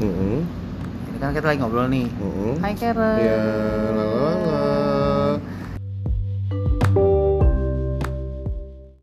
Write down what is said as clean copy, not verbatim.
Ini kan kita lagi ngobrol nih. Hai Karen. Ya, lalala.